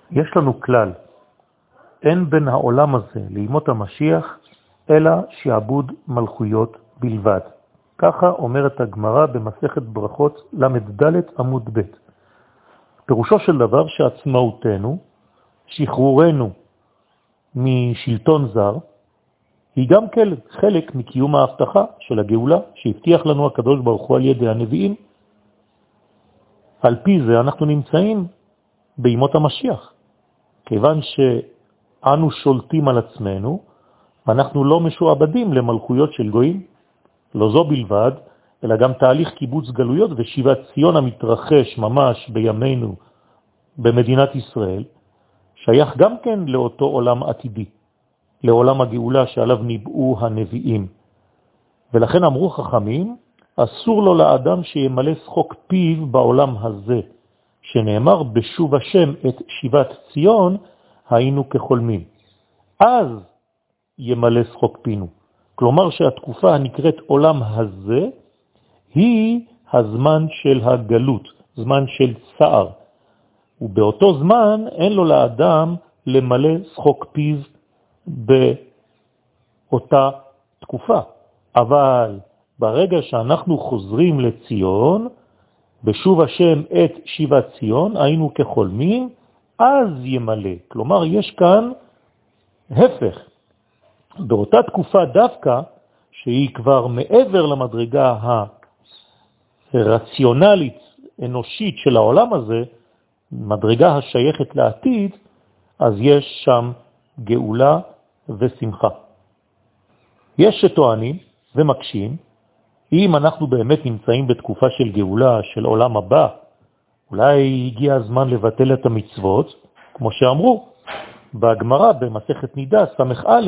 יש לנו כלל, אין בין העולם הזה לימות המשיח, אלא שעבוד מלכויות בלבד. ככה אומרת הגמרא במסכת ברכות למד עמוד ב'. פירושו של דבר שעצמאותנו, שחרורנו משלטון זר, היא גם חלק מקיום ההבטחה של הגאולה שהבטיח לנו הקדוש ברוך הוא על ידי הנביאים. על פי זה אנחנו נמצאים בימות המשיח. כיוון שאנו שולטים על עצמנו, אנחנו לא משועבדים למלכויות של גויים. לא זו בלבד, אלא גם תהליך קיבוץ גלויות ושיבת ציון המתרחש ממש בימינו במדינת ישראל, שייך גם כן לאותו עולם עתידי, לעולם הגאולה שעליו ניבאו הנביאים. ולכן אמרו חכמים, אסור לו לאדם שימלא שחוק פיו בעולם הזה, שנאמר בשוב השם את שיבת ציון, היינו כחולמים. אז ימלא שחוק פינו. כלומר שהתקופה הנקראת עולם הזה, היא הזמן של הגלות, זמן של צער. ובאותו זמן אין לו לאדם למלא שחוק פיו באותה תקופה. אבל ברגע שאנחנו חוזרים לציון, בשוב השם את שיבת ציון, היינו כחולמים, אז ימלא. כלומר, יש כאן הפך. באותה תקופה דווקא, שהיא כבר מעבר למדרגה הרציונלית, אנושית של העולם הזה, מדרגה השייכת לעתיד, אז יש שם גאולה ושמחה. יש שטוענים ומקשים, אם אנחנו באמת נמצאים בתקופה של גאולה, של עולם הבא, אולי הגיע הזמן לבטל את המצוות, כמו שאמרו בגמרא במסכת נידה סמך א',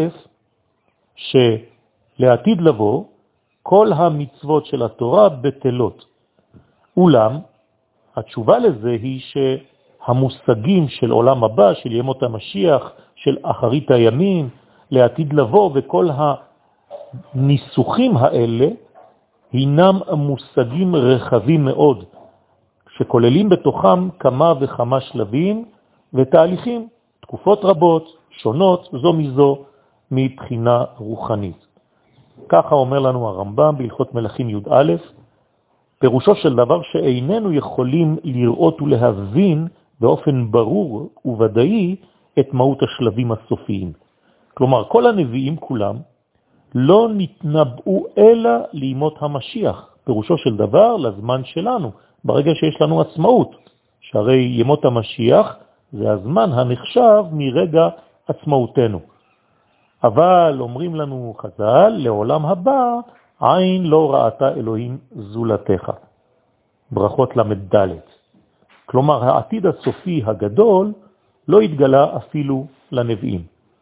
שלעתיד לבוא כל המצוות של התורה בטלות. אולם התשובה לזה היא שהמושגים של עולם הבא, של ימות המשיח, של אחרית הימים, לעתיד לבוא, וכל הניסוחים האלה הינם מושגים רחבים מאוד, שכוללים בתוכם כמה וכמה שלבים ותהליכים, תקופות רבות, שונות זו מזו מבחינה רוחנית. ככה אומר לנו הרמב"ם בהלכות מלכים י"א, פירושו של דבר שאיננו יכולים לראות ולהבין באופן ברור וודאי את מהות השלבים הסופיים. כלומר, כל הנביאים כולם לא נתנבאו אלא לימות המשיח, פירושו של דבר לזמן שלנו, ברגע שיש לנו עצמאות, שהרי ימות המשיח זה הזמן הנחשב מרגע עצמאותנו. אבל אומרים לנו חז"ל, לעולם הבא עין לא ראתה אלוהים זולתך. ברכות למד. כלומר, העתיד הסופי הגדול לא התגלה אפילו לנביאים.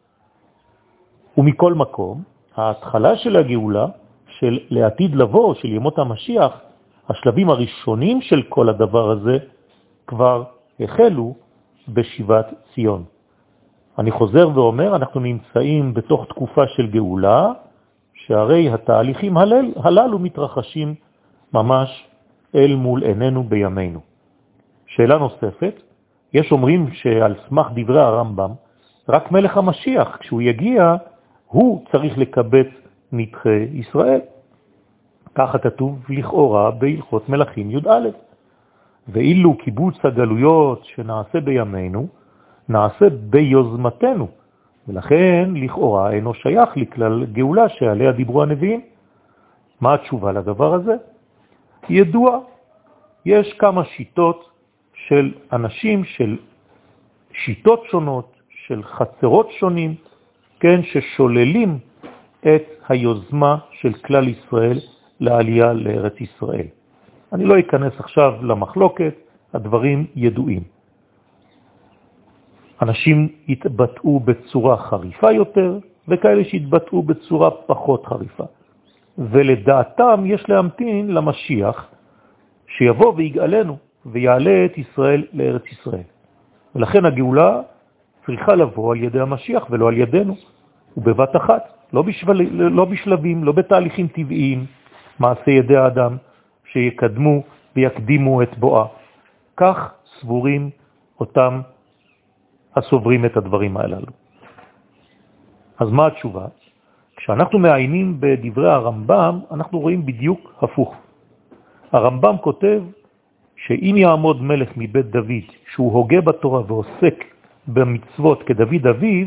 ומכל מקום, ההתחלה של הגאולה, של לעתיד לבוא, של ימות המשיח, השלבים הראשונים של כל הדבר הזה כבר החלו בשיבת ציון. אני חוזר ואומר, אנחנו נמצאים בתוך תקופה של גאולה, שהרי התהליכים הללו מתרחשים ממש אל מול עינינו בימינו. שאלה נוספת, יש אומרים שעל סמך דברי הרמב"ם, רק מלך המשיח, כשהוא יגיע, הוא צריך לקבץ נדחי ישראל. ככה כתוב לכאורה בהלכות מלכים י"א. ואילו קיבוץ הגלויות שנעשה בימינו, נעשה ביוזמתנו, ולכן לכאורה אינו שייך לכלל גאולה שעליה דיברו הנביאים. מה התשובה לדבר הזה? ידוע, יש כמה שיטות של אנשים, של שיטות שונות, של חצרות שונים, כן, ששוללים את היוזמה של כלל ישראל לעלייה לארץ ישראל. אני לא אכנס עכשיו למחלוקת, הדברים ידועים. אנשים יתבטאו בצורה חריפה יותר, וכאלה שיתבטאו בצורה פחות חריפה. ולדעתם יש להמתין למשיח, שיבוא ויגאלנו, ויעלה את ישראל לארץ ישראל. ולכן הגאולה צריכה לבוא על ידי המשיח ולא על ידינו, ובבת אחת, לא בשלבים, לא בתהליכים טבעיים, מעשה ידי האדם שיקדמו ויקדימו את בואה. כך סבורים אותם הסוברים את הדברים הללו. אז מה התשובה? כשאנחנו מעיינים בדברי הרמב"ם, אנחנו רואים בדיוק הפוך. הרמב"ם כותב שאם יעמוד מלך מבית דוד, שהוא הוגה בתורה ועוסק במצוות כדוד אביו,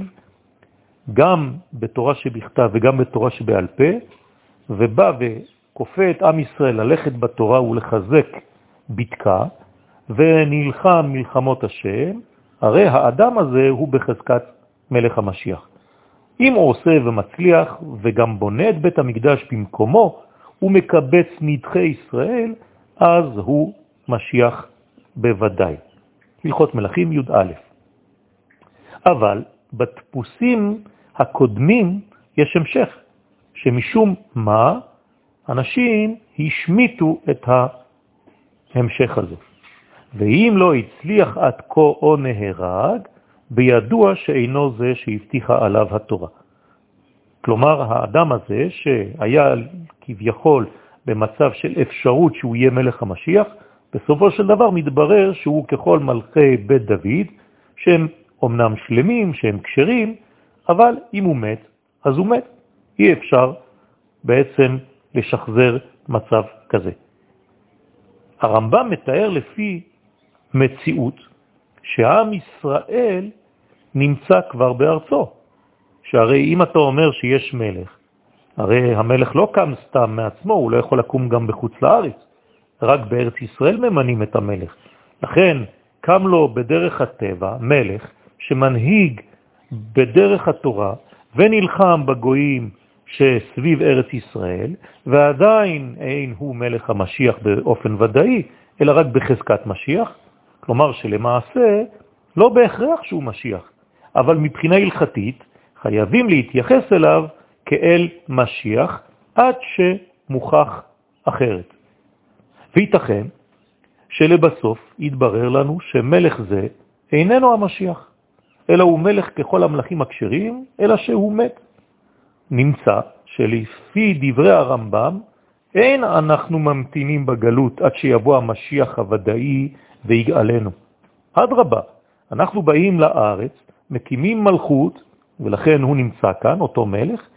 גם בתורה שבכתב וגם בתורה שבעל פה, ובא וכופה את עם ישראל ללכת בתורה ולחזק בדקה, ונלחם מלחמות השם, הרי האדם הזה הוא בחזקת מלך המשיח. אם הוא עושה ומצליח וגם בונה את בית המקדש במקומו, הוא מקבץ נדחי ישראל, אז הוא משיח בוודאי. הלכות מלכים י"א. אבל בדפוסים הקודמים יש המשך, שמשום מה אנשים השמיטו את ההמשך הזה. ואם לא הצליח עד כה או נהרג, בידוע שאינו זה שהבטיחה עליו התורה. כלומר, האדם הזה שהיה כביכול במצב של אפשרות שהוא יהיה מלך המשיח, בסופו של דבר מתברר שהוא ככל מלכי בית דוד, שהם אומנם שלמים, שהם כשרים, אבל אם הוא מת, אז הוא מת. אי אפשר בעצם לשחזר מצב כזה. הרמב"ם מתאר לפי מציאות שהעם ישראל נמצא כבר בארצו. שהרי אם אתה אומר שיש מלך, הרי המלך לא קם סתם מעצמו, הוא לא יכול לקום גם בחוץ לארץ. רק בארץ ישראל ממנים את המלך. לכן קם לו בדרך הטבע מלך שמנהיג בדרך התורה ונלחם בגויים שסביב ארץ ישראל, ועדיין אין הוא מלך המשיח באופן ודאי, אלא רק בחזקת משיח. כלומר שלמעשה לא בהכרח שהוא משיח, אבל מבחינה הלכתית חייבים להתייחס אליו כאל משיח עד שמוכח אחרת. וייתכן שלבסוף יתברר לנו שמלך זה איננו המשיח, אלא הוא מלך ככל המלכים הכשרים, אלא שהוא מת. נמצא שלפי דברי הרמב"ם אין אנחנו ממתינים בגלות עד שיבוא המשיח הוודאי ויגאלנו. אדרבה, אנחנו באים לארץ, מקימים מלכות, ולכן הוא נמצא כאן, אותו מלך,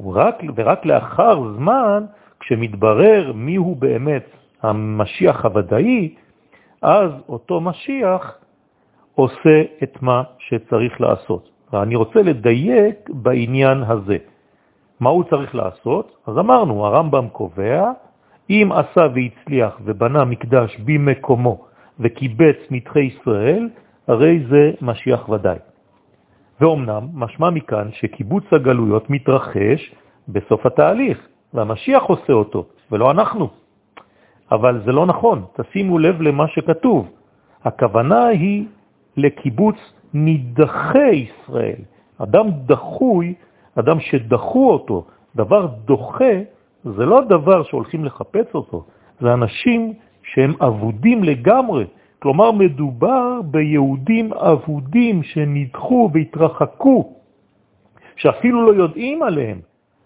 ורק לאחר זמן, כשמתברר מיהו באמת המשיח הוודאי, אז אותו משיח עושה את מה שצריך לעשות. ואני רוצה לדייק בעניין הזה. מה הוא צריך לעשות? אז אמרנו, הרמב"ם קובע, אם עשה והצליח ובנה מקדש במקומו וקיבץ נדחי ישראל, הרי זה משיח ודאי. ואומנם משמע מכאן שקיבוץ הגלויות מתרחש בסוף התהליך, והמשיח עושה אותו, ולא אנחנו. אבל זה לא נכון, תשימו לב למה שכתוב. הכוונה היא לקיבוץ נדחי ישראל. אדם דחוי, אדם שדחו אותו, דבר דוחה, זה לא דבר שהולכים לחפש אותו, זה אנשים שהם עבודים לגמרי. כלומר, מדובר ביהודים עבודים שנדחו והתרחקו, שאפילו לא יודעים עליהם.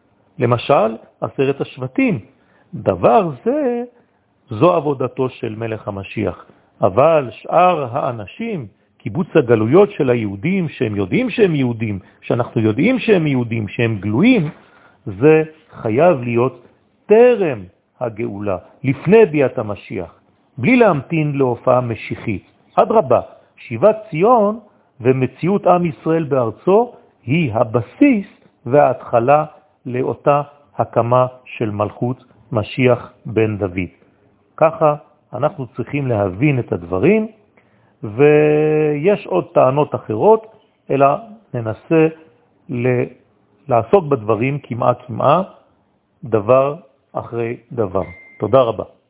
למשל, 10 השבטים. דבר זה, זו עבודתו של מלך המשיח. אבל שאר האנשים, קיבוץ הגלויות של היהודים, שהם יודעים שהם יהודים, שאנחנו יודעים שהם יהודים, שהם גלויים, זה חייב להיות טרם הגאולה, לפני ביאת המשיח, בלי להמתין להופעה משיחית. אדרבה, שיבת ציון ומציאות עם ישראל בארצו היא הבסיס וההתחלה לאותה הקמה של מלכות משיח בן דוד. ככה אנחנו צריכים להבין את הדברים, ויש עוד טענות אחרות, אלא ננסה לעסוק בדברים כמעה, דבר אחרי דבר. תודה רבה.